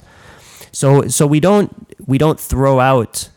So so we don't we don't throw out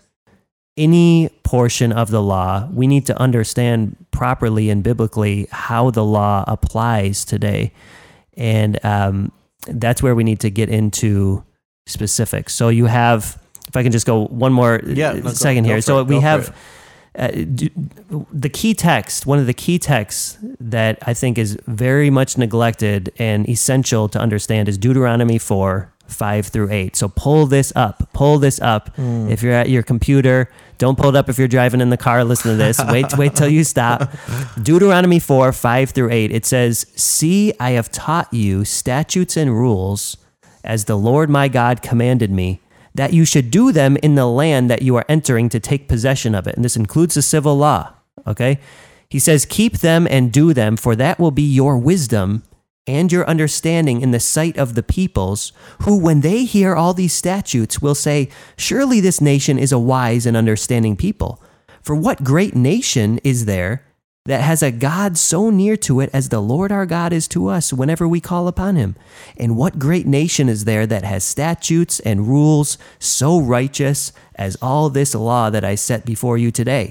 any portion of the law. We need to understand properly and biblically how the law applies today. And um, that's where we need to get into specifics. So you have, if I can just go one more Yeah, no, go- second go here. for So it, we go for have, uh, d- the key text, one of the key texts that I think is very much neglected and essential to understand is Deuteronomy four, five through eight. So pull this up, pull this up. Mm. If you're at your computer, don't pull it up if you're driving in the car, listen to this. Wait, wait till you stop. Deuteronomy four, five through eight. It says, "See, I have taught you statutes and rules as the Lord my God commanded me, that you should do them in the land that you are entering to take possession of it." And this includes the civil law, okay? He says, "Keep them and do them, for that will be your wisdom and your understanding in the sight of the peoples, who, when they hear all these statutes, will say, 'Surely this nation is a wise and understanding people.' For what great nation is there that has a God so near to it as the Lord our God is to us whenever we call upon him? And what great nation is there that has statutes and rules so righteous as all this law that I set before you today?"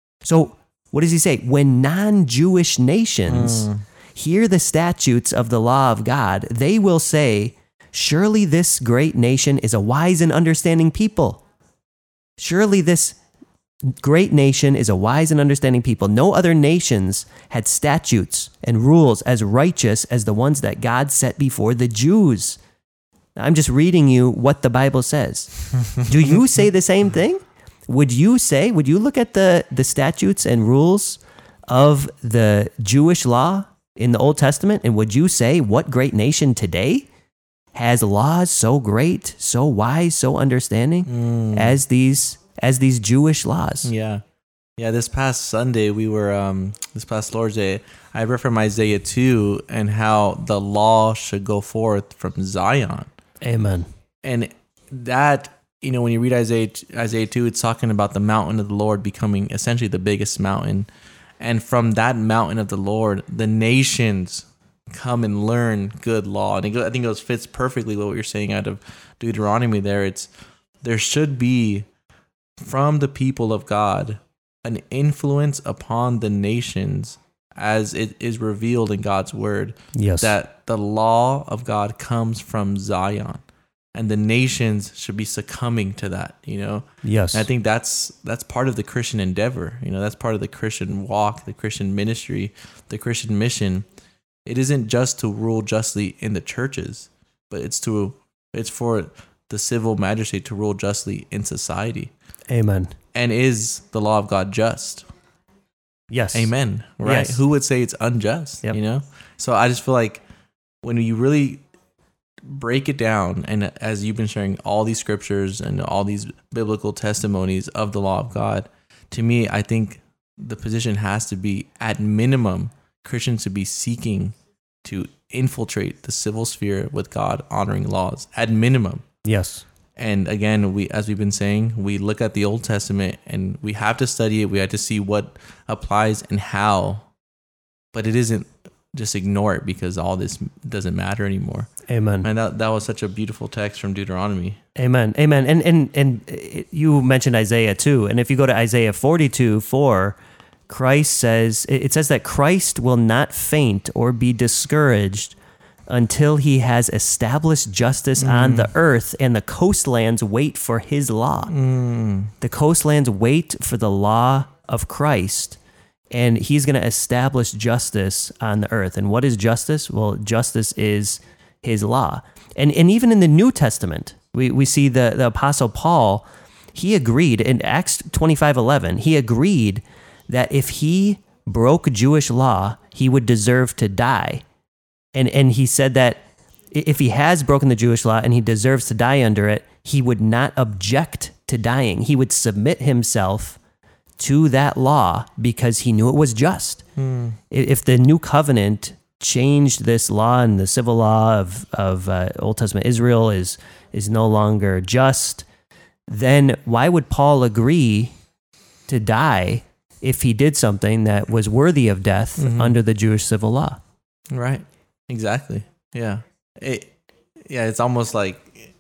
So what does he say? When non-Jewish nations mm. hear the statutes of the law of God, they will say, "Surely this great nation is a wise and understanding people." Surely this great nation is a wise and understanding people. No other nations had statutes and rules as righteous as the ones that God set before the Jews. Now, I'm just reading you what the Bible says. Do you say the same thing? Would you say, would you look at the, the statutes and rules of the Jewish law in the Old Testament, and would you say, what great nation today has laws so great, so wise, so understanding mm. as these as these Jewish laws? Yeah. Yeah, this past Sunday, we were, um, this past Lord's Day, I read from Isaiah two and how the law should go forth from Zion. Amen. And that, you know, when you read Isaiah, Isaiah two, it's talking about the mountain of the Lord becoming essentially the biggest mountain. And from that mountain of the Lord, the nations come and learn good law. And it, I think it fits perfectly with what you're saying out of Deuteronomy there. It's, there should be, from the people of God, an influence upon the nations as it is revealed in God's word. Yes. That the law of God comes from Zion, and the nations should be succumbing to that, you know? Yes. And I think that's that's part of the Christian endeavor. You know, that's part of the Christian walk, the Christian ministry, the Christian mission. It isn't just to rule justly in the churches, but it's to it's for the civil magistrate to rule justly in society. Amen. And is the law of God just? Yes. Amen. Right? Yes. Who would say it's unjust? Yep. You know? So I just feel like when you really break it down, and as you've been sharing all these scriptures and all these biblical testimonies of the law of God, to me, I think the position has to be, at minimum, Christians to be seeking to infiltrate the civil sphere with God honoring laws, at minimum. Yes. And again, we, as we've been saying, we look at the Old Testament and we have to study it. We have to see what applies and how, but it isn't just ignore it because all this doesn't matter anymore. Amen. And that that was such a beautiful text from Deuteronomy. Amen. Amen. And and and it, you mentioned Isaiah too. And if you go to Isaiah forty-two, four, Christ says, it says that Christ will not faint or be discouraged until he has established justice mm. on the earth, and the coastlands wait for his law. Mm. The coastlands wait for the law of Christ, and he's going to establish justice on the earth. And what is justice? Well, justice is his law. And and even in the New Testament, we, we see the, the Apostle Paul, he agreed in Acts twenty-five eleven, he agreed that if he broke Jewish law, he would deserve to die. And and he said that if he has broken the Jewish law and he deserves to die under it, he would not object to dying. He would submit himself to that law because he knew it was just. Hmm. If the new covenant changed this law and the civil law of, of uh, Old Testament Israel is, is no longer just, then why would Paul agree to die if he did something that was worthy of death mm-hmm. under the Jewish civil law? Right. Exactly. Yeah. It, yeah, it's almost like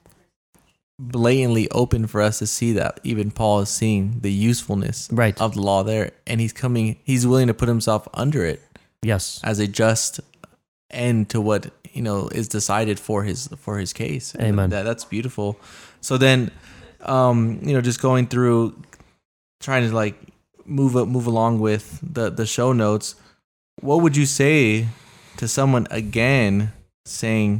blatantly open for us to see that even Paul is seeing the usefulness right. of the law there, and he's coming, he's willing to put himself under it. Yes. As a just end to what, you know, is decided for his for his case. Amen. That, that's beautiful. So then, um, you know, just going through, trying to like move up, move along with the the show notes, what would you say to someone again saying,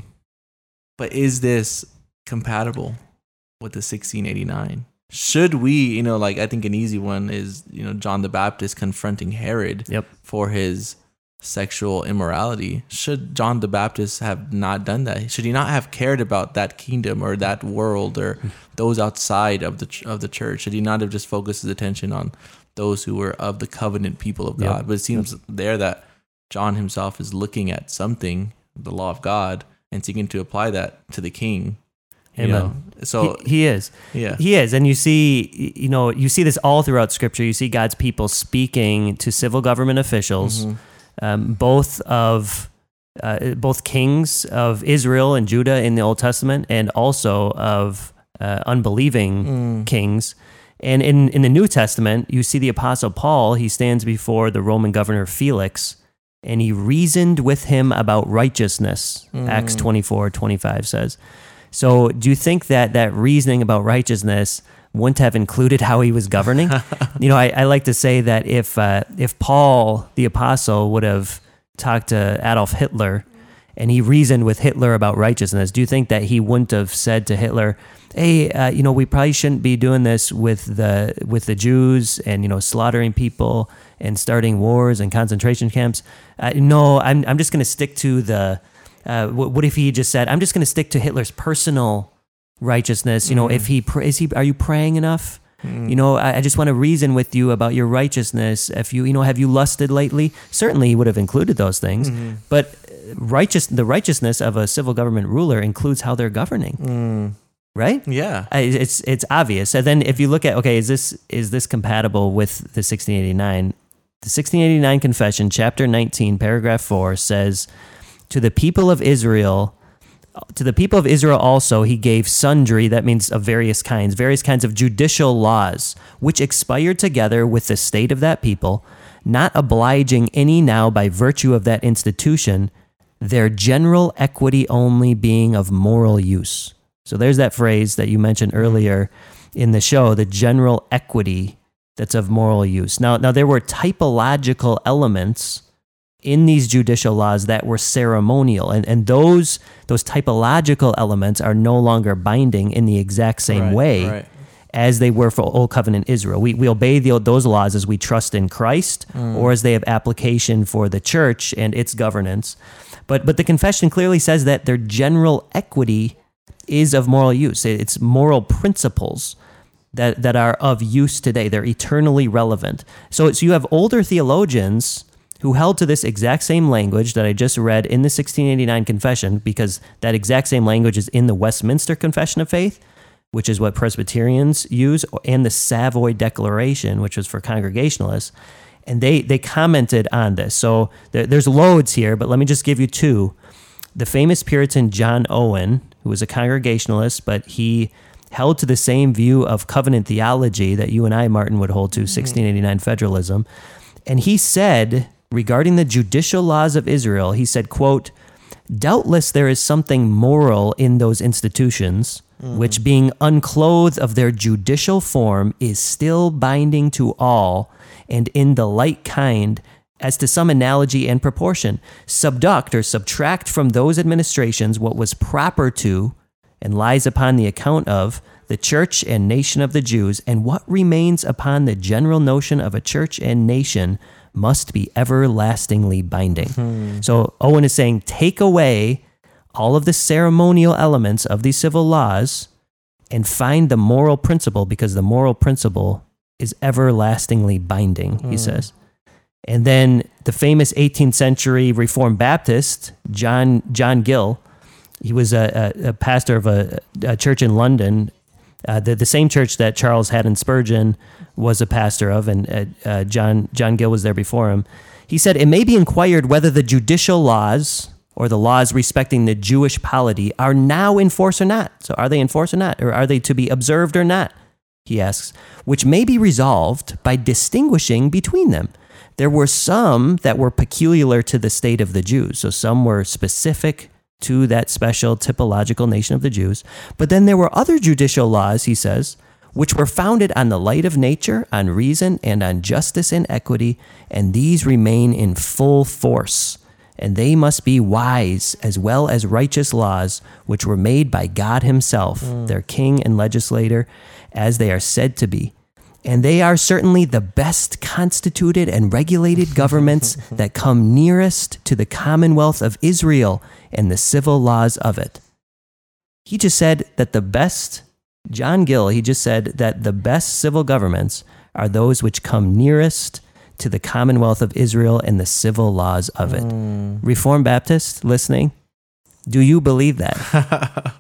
but is this compatible with the sixteen eighty-nine? Should we, you know, like I think an easy one is, you know, John the Baptist confronting Herod Yep. for his sexual immorality. Should John the Baptist have not done that? Should he not have cared about that kingdom or that world or those outside of the ch- of the church? Should he not have just focused his attention on those who were of the covenant people of God? Yep. But it seems Yep. there that John himself is looking at something, the law of God, and seeking to apply that to the king. You Amen. know? So he, he is. yeah. He is. And you see, you know, you see this all throughout Scripture. You see God's people speaking to civil government officials, Mhm. um, both of uh, both kings of Israel and Judah in the Old Testament, and also of uh, unbelieving Mm. kings. And in, in the New Testament, you see the Apostle Paul. He stands before the Roman governor Felix, and he reasoned with him about righteousness. Mm. Acts twenty-four twenty-five says. So do you think that that reasoning about righteousness wouldn't have included how he was governing? You know, I, I like to say that if uh, if Paul, the apostle, would have talked to Adolf Hitler and he reasoned with Hitler about righteousness, do you think that he wouldn't have said to Hitler, hey, uh, you know, we probably shouldn't be doing this with the with the Jews and, you know, slaughtering people and starting wars and concentration camps? Uh, no, I'm I'm just going to stick to the... Uh, what, what if he just said, "I'm just going to stick to Hitler's personal righteousness"? You know, Mm. if he pr- is he, are you praying enough? Mm. You know, I, I just want to reason with you about your righteousness. If you, you know, have you lusted lately? Certainly, he would have included those things. Mhm. But righteous, the righteousness of a civil government ruler includes how they're governing, Mm. right? Yeah. I- It's it's obvious. And then if you look at, okay, is this is this compatible with the sixteen eighty-nine? The sixteen eighty-nine Confession, chapter nineteen, paragraph four says, to the people of Israel, to the people of Israel also, he gave sundry, that means of various kinds, various kinds of judicial laws, which expired together with the state of that people, not obliging any now by virtue of that institution, their general equity only being of moral use. So there's that phrase that you mentioned earlier in the show, the general equity that's of moral use. Now, now there were typological elements in these judicial laws that were ceremonial, and, and those those typological elements are no longer binding in the exact same Right, way right. as they were for Old Covenant Israel. We, we obey the, those laws as we trust in Christ, Mm. or as they have application for the church and its governance. But but the confession clearly says that their general equity is of moral use. It's moral principles that, that are of use today. They're eternally relevant. So, so you have older theologians who held to this exact same language that I just read in the sixteen eighty-nine Confession, because that exact same language is in the Westminster Confession of Faith, which is what Presbyterians use, and the Savoy Declaration, which was for Congregationalists. And they, they commented on this. So there, there's loads here, but let me just give you two. The famous Puritan John Owen, who was a Congregationalist, but he held to the same view of covenant theology that you and I, Martin, would hold to, sixteen eighty-nine federalism. And he said, regarding the judicial laws of Israel, he said, quote, doubtless there is something moral in those institutions, mm. which being unclothed of their judicial form is still binding to all, and in the like kind, as to some analogy and proportion, subduct or subtract from those administrations what was proper to, and lies upon the account of, the church and nation of the Jews, and what remains upon the general notion of a church and nation must be everlastingly binding. Hmm. So Owen is saying, take away all of the ceremonial elements of these civil laws and find the moral principle, because the moral principle is everlastingly binding, hmm. he says. And then the famous eighteenth century Reformed Baptist, John John Gill, he was a, a, a pastor of a, a church in London, uh, the, the same church that Charles Haddon Spurgeon was a pastor of, and uh, uh, John John Gill was there before him. He said, it may be inquired whether the judicial laws, or the laws respecting the Jewish polity, are now in force or not. So are they in force or not? Or are they to be observed or not? He asks, which may be resolved by distinguishing between them. There were some that were peculiar to the state of the Jews. So some were specific to that special typological nation of the Jews. But then there were other judicial laws, he says, which were founded on the light of nature, on reason, and on justice and equity, and these remain in full force. And they must be wise as well as righteous laws, which were made by God himself, mm. their king and legislator, as they are said to be. And they are certainly the best constituted and regulated governments that come nearest to the commonwealth of Israel and the civil laws of it. He just said that the best, John Gill, he just said that the best civil governments are those which come nearest to the commonwealth of Israel and the civil laws of it. Mm. Reformed Baptist listening, do you believe that?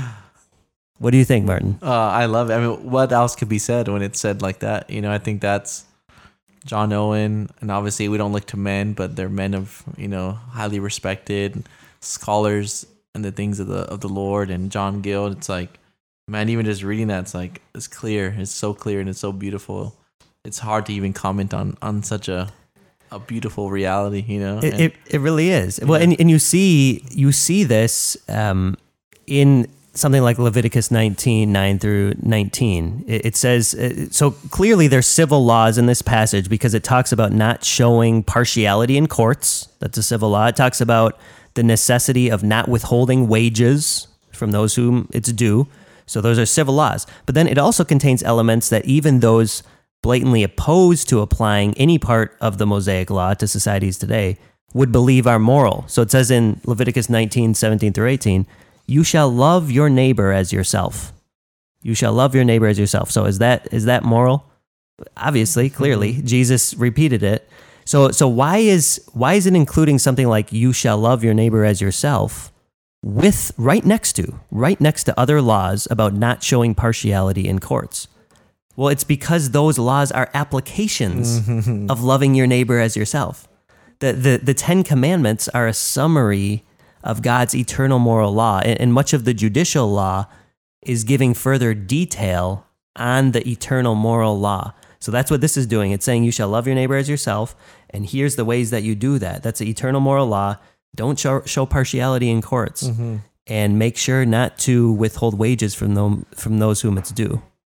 What do you think, Martin? Uh, I love it. I mean, what else could be said when it's said like that? You know, I think that's John Owen, and obviously we don't look to men, but they're men of, you know, highly respected scholars and the things of the of the Lord, and John Gill. It's like, man, even just reading that, it's like, it's clear. It's so clear and it's so beautiful. It's hard to even comment on on such a a beautiful reality, you know. It and, it, it really is. Yeah. Well, and and you see you see this um, in something like Leviticus nineteen, nine through nineteen. It, it says, so clearly there's civil laws in this passage because it talks about not showing partiality in courts. That's a civil law. It talks about the necessity of not withholding wages from those whom it's due. So those are civil laws. But then it also contains elements that even those blatantly opposed to applying any part of the Mosaic law to societies today would believe are moral. So it says in Leviticus nineteen, seventeen through eighteen, you shall love your neighbor as yourself. You shall love your neighbor as yourself. So is that is that moral? Obviously, clearly, mm-hmm. Jesus repeated it. So so why is why is it including something like you shall love your neighbor as yourself with right next to right next to other laws about not showing partiality in courts? Well, it's because those laws are applications mm-hmm. of loving your neighbor as yourself. The the the Ten Commandments are a summary of God's eternal moral law, and much of the judicial law is giving further detail on the eternal moral law. So that's what this is doing. It's saying you shall love your neighbor as yourself, and here's the ways that you do that. That's the eternal moral law. Don't show, show partiality in courts, mm-hmm. and make sure not to withhold wages from them, from those whom it's due.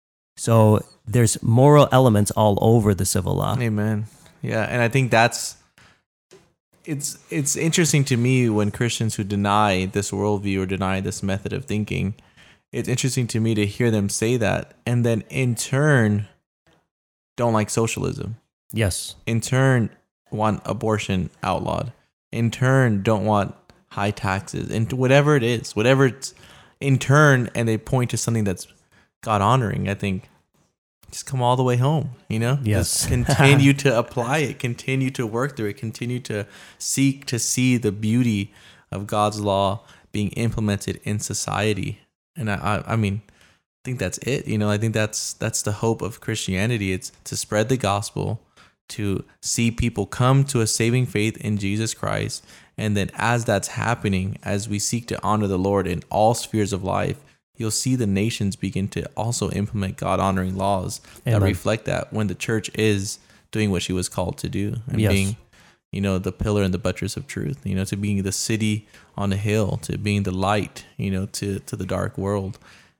So there's moral elements all over the civil law. Amen. Yeah, and I think that's It's it's interesting to me when Christians who deny this worldview or deny this method of thinking, it's interesting to me to hear them say that, and then in turn don't like socialism. Yes. In turn want abortion outlawed. In turn don't want high taxes, and whatever it is, whatever it's in turn, and they point to something that's God honoring. I think just come all the way home, you know? Yes. Just continue to apply it, continue to work through it, continue to seek to see the beauty of God's law being implemented in society. And I, I, I mean, I think that's it. You know, I think that's that's the hope of Christianity. It's to spread the gospel, to see people come to a saving faith in Jesus Christ. And then as that's happening, as we seek to honor the Lord in all spheres of life, you'll see the nations begin to also implement God-honoring laws Amen. That reflect that when the church is doing what she was called to do and yes. being, you know, the pillar and the buttress of truth, you know, to being the city on a hill, to being the light, you know, to, to the dark world.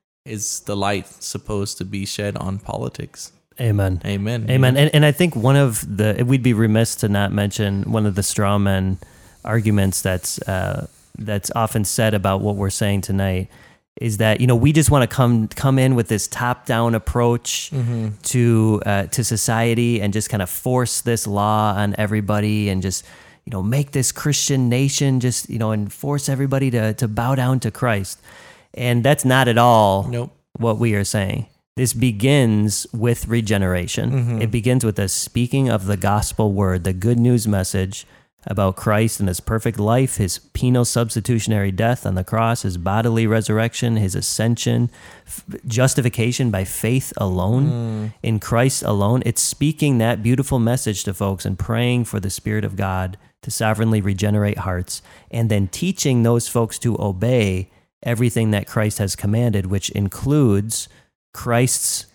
Is the light supposed to be shed on politics? Amen. Amen. Amen. And, and I think one of the, we'd be remiss to not mention one of the straw man arguments that's, uh, that's often said about what we're saying tonight, is that, you know, we just want to come come in with this top-down approach mm-hmm. to uh, to society and just kind of force this law on everybody and just, you know, make this Christian nation just, you know, and force everybody to to bow down to Christ. And that's not at all nope. what we are saying. This begins with regeneration. Mm-hmm. It begins with the speaking of the gospel word, the good news message about Christ and his perfect life, his penal substitutionary death on the cross, his bodily resurrection, his ascension, f- justification by faith alone, mm. in Christ alone. It's speaking that beautiful message to folks and praying for the Spirit of God to sovereignly regenerate hearts, and then teaching those folks to obey everything that Christ has commanded, which includes Christ's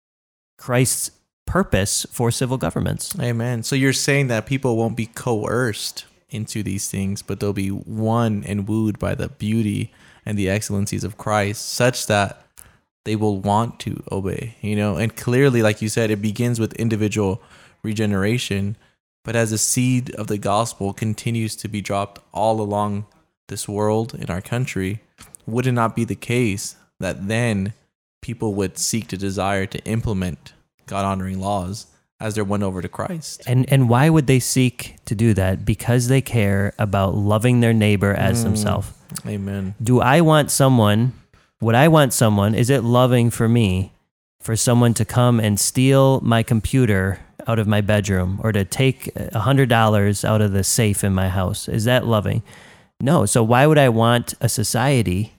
Christ's purpose for civil governments. Amen. So you're saying that people won't be coerced into these things, but they'll be won and wooed by the beauty and the excellencies of Christ, such that they will want to obey, you know. And clearly, like you said, it begins with individual regeneration, but as the seed of the gospel continues to be dropped all along this world in our country, would it not be the case that then people would seek to desire to implement God-honoring laws as they're won over to Christ? And and why would they seek to do that? Because they care about loving their neighbor as Mm. themselves. Amen. Do I want someone, would I want someone, is it loving for me for someone to come and steal my computer out of my bedroom or to take one hundred dollars out of the safe in my house? Is that loving? No. So why would I want a society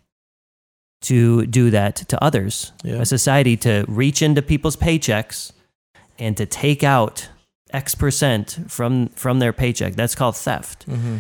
to do that to others? Yeah. A society to reach into people's paychecks and to take out X percent from, from their paycheck. That's called theft. Mm-hmm.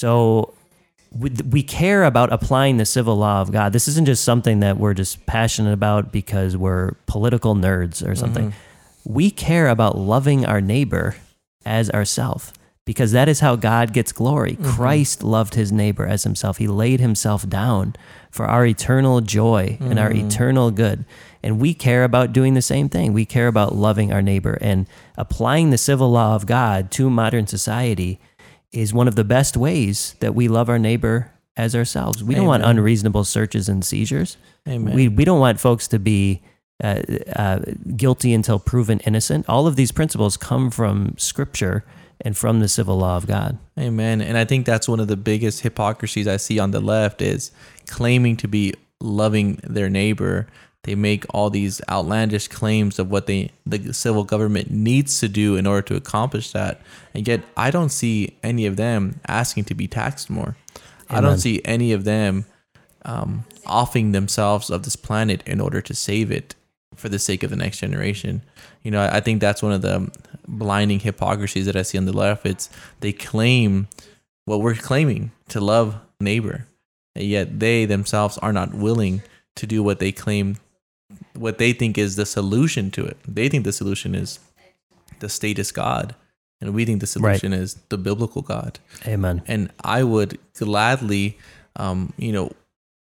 So we, we care about applying the civil law of God. This isn't just something that we're just passionate about because we're political nerds or something. Mm-hmm. We care about loving our neighbor as ourself, because that is how God gets glory. Mm-hmm. Christ loved his neighbor as himself. He laid himself down for our eternal joy and our Mm-hmm. eternal good. And we care about doing the same thing. We care about loving our neighbor, and applying the civil law of God to modern society is one of the best ways that we love our neighbor as ourselves. We don't want Amen. unreasonable searches and seizures. Amen. We we don't want folks to be uh, uh, guilty until proven innocent. All of these principles come from Scripture and from the civil law of God. Amen. And I think that's one of the biggest hypocrisies I see on the left is claiming to be loving their neighbor. They make all these outlandish claims of what they the civil government needs to do in order to accomplish that. And yet I don't see any of them asking to be taxed more. I Amen. don't see any of them um, offing themselves of this planet in order to save it for the sake of the next generation. You know, I, I think that's one of the blinding hypocrisies that I see on the left. It's they claim what we're claiming, to love neighbor, and yet they themselves are not willing to do what they claim, what they think is the solution to it. They think the solution is the status God, and we think the solution is the biblical God. Amen. And I would gladly, um, you know,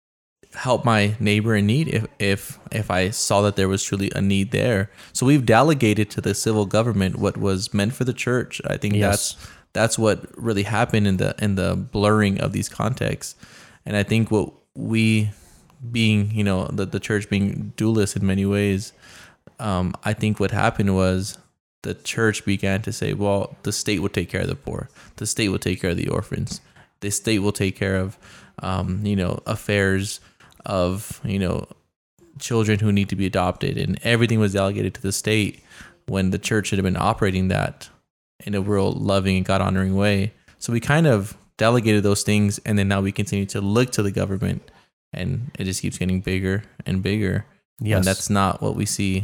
help my neighbor in need if, if if I saw that there was truly a need there. So we've delegated to the civil government what was meant for the church. I think Yes. that's that's what really happened in the in the blurring of these contexts. And I think what we being, you know, the, the church being dualist in many ways, um, I think what happened was the church began to say, well, the state will take care of the poor. The state will take care of the orphans. The state will take care of, um, you know, affairs of, you know, children who need to be adopted. And everything was delegated to the state when the church should have been operating that in a real loving and God-honoring way. So we kind of delegated those things, and then now we continue to look to the government, and it just keeps getting bigger and bigger. Yes. And that's not what we see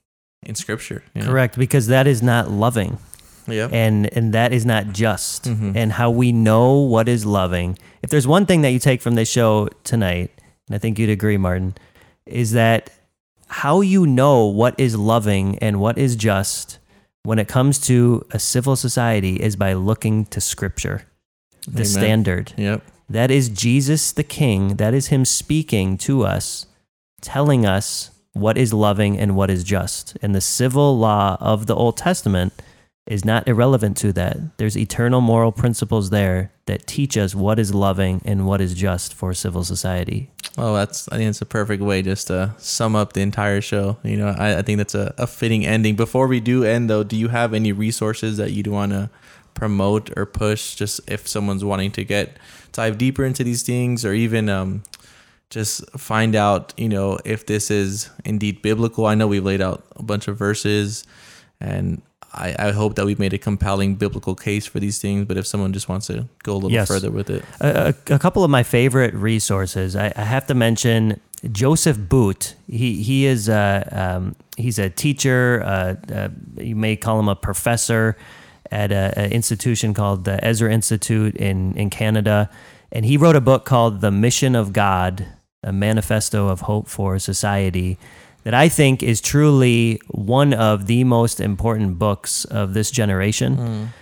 in Scripture. You know? Correct, because that is not loving. Yeah. And and that is not just. Mhm. And how we know what is loving. If there's one thing that you take from this show tonight, and I think you'd agree, Martin, is that how you know what is loving and what is just when it comes to a civil society is by looking to Scripture, the Amen. standard. Yep. That is Jesus the King. That is him speaking to us, telling us what is loving and what is just. And the civil law of the Old Testament is not irrelevant to that. There's eternal moral principles there that teach us what is loving and what is just for civil society. Oh, that's, I think it's a perfect way just to sum up the entire show. You know, I, I think that's a, a fitting ending. Before we do end, though, do you have any resources that you'd want to promote or push, just if someone's wanting to get dive deeper into these things, or even um, just find out, you know, if this is indeed biblical? I know we've laid out a bunch of verses, and I, I hope that we've made a compelling biblical case for these things, but if someone just wants to go a little Yes. further with it. A, a, a couple of my favorite resources. I, I have to mention Joseph Boot. He he is a, um, he's a teacher. Uh, uh, you may call him a professor at an institution called the Ezra Institute in in Canada, and he wrote a book called The Mission of God: A Manifesto of Hope for Society, that I think is truly one of the most important books of this generation. Mm.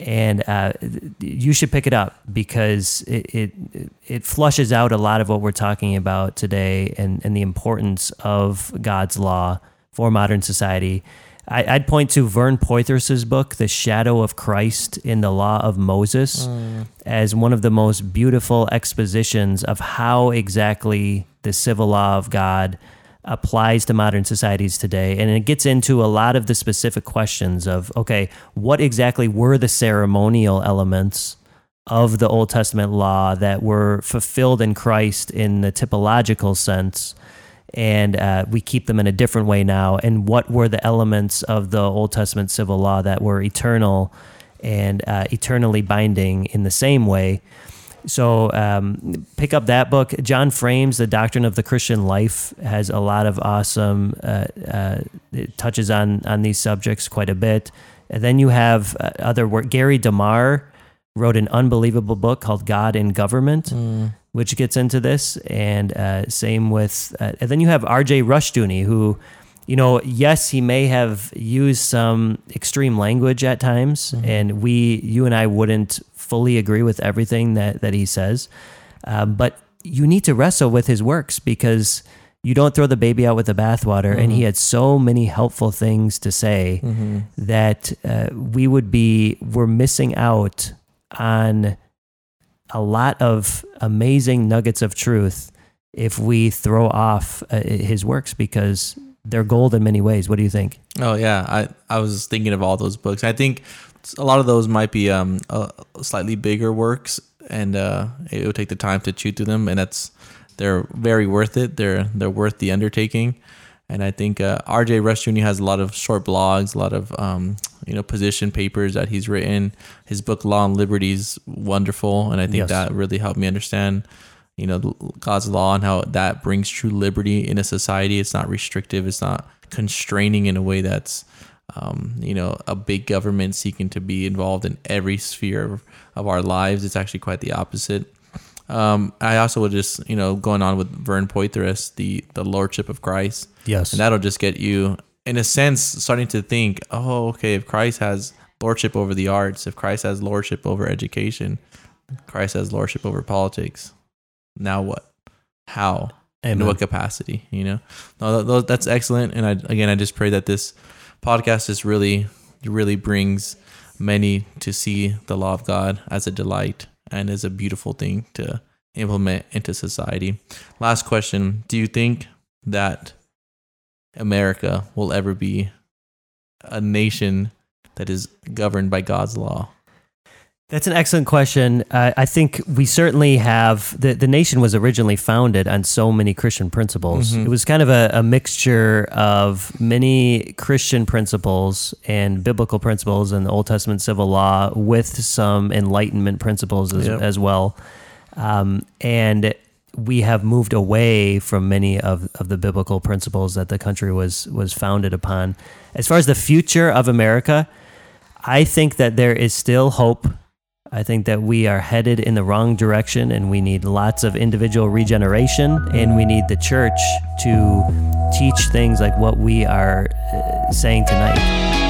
And uh, you should pick it up because it, it it flushes out a lot of what we're talking about today and, and the importance of God's law for modern society. I, I'd point to Vern Poythress's book, The Shadow of Christ in the Law of Moses, mm. as one of the most beautiful expositions of how exactly the civil law of God applies to modern societies today. And it gets into a lot of the specific questions of, okay, what exactly were the ceremonial elements of the Old Testament law that were fulfilled in Christ in the typological sense, and uh, we keep them in a different way now, and what were the elements of the Old Testament civil law that were eternal and uh, eternally binding in the same way. So um, pick up that book. John Frame's The Doctrine of the Christian Life has a lot of awesome, uh, uh, it touches on, on these subjects quite a bit. And then you have uh, other work. Gary DeMar wrote an unbelievable book called God in Government, mm. which gets into this. And uh, same with, uh, and then you have R J Rushdoony, who, you know, yes, he may have used some extreme language at times, mm-hmm. and we, you and I wouldn't fully agree with everything that, that he says. Um, but you need to wrestle with his works because you don't throw the baby out with the bathwater. Mm-hmm. And he had so many helpful things to say mm-hmm. that uh, we would be, we're missing out on a lot of amazing nuggets of truth if we throw off uh, his works because they're gold in many ways. What do you think? Oh yeah, I, I was thinking of all those books. I think a lot of those might be um uh, slightly bigger works, and uh, it would take the time to chew through them, and that's they're very worth it. They're they're worth the undertaking, and I think uh, R J Rushdoony has a lot of short blogs, a lot of um you know position papers that he's written. His book Law and Liberty is wonderful, and I think yes. that really helped me understand you know God's law and how that brings true liberty in a society. It's not restrictive. It's not constraining in a way that's Um, you know, a big government seeking to be involved in every sphere of, of our lives. It's actually quite the opposite. Um, I also would just, you know, going on with Vern Poythress, the, the Lordship of Christ. Yes. And that'll just get you, in a sense, starting to think, oh, okay, if Christ has Lordship over the arts, if Christ has Lordship over education, Christ has Lordship over politics, now what? How? Amen. In what capacity, you know? No, that, that's excellent. And I, again, I just pray that this podcast just really, really brings many to see the law of God as a delight and as a beautiful thing to implement into society. Last question. Do you think that America will ever be a nation that is governed by God's law? That's an excellent question. Uh, I think we certainly have, the, the nation was originally founded on so many Christian principles. Mm-hmm. It was kind of a, a mixture of many Christian principles and biblical principles in the Old Testament civil law with some Enlightenment principles as, yep. as well. Um, and we have moved away from many of, of the biblical principles that the country was, was founded upon. As far as the future of America, I think that there is still hope. I think that we are headed in the wrong direction, and we need lots of individual regeneration, and we need the church to teach things like what we are uh, saying tonight.